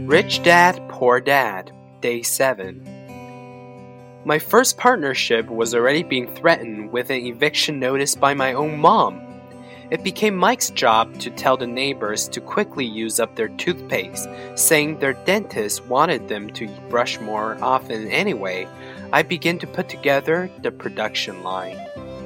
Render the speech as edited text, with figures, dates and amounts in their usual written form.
Rich Dad, Poor Dad, Day 7. My first partnership was already being threatened with an eviction notice by my own mom. It became Mike's job to tell the neighbors to quickly use up their toothpaste, saying their dentist wanted them to brush more often anyway. I began to put together the production line.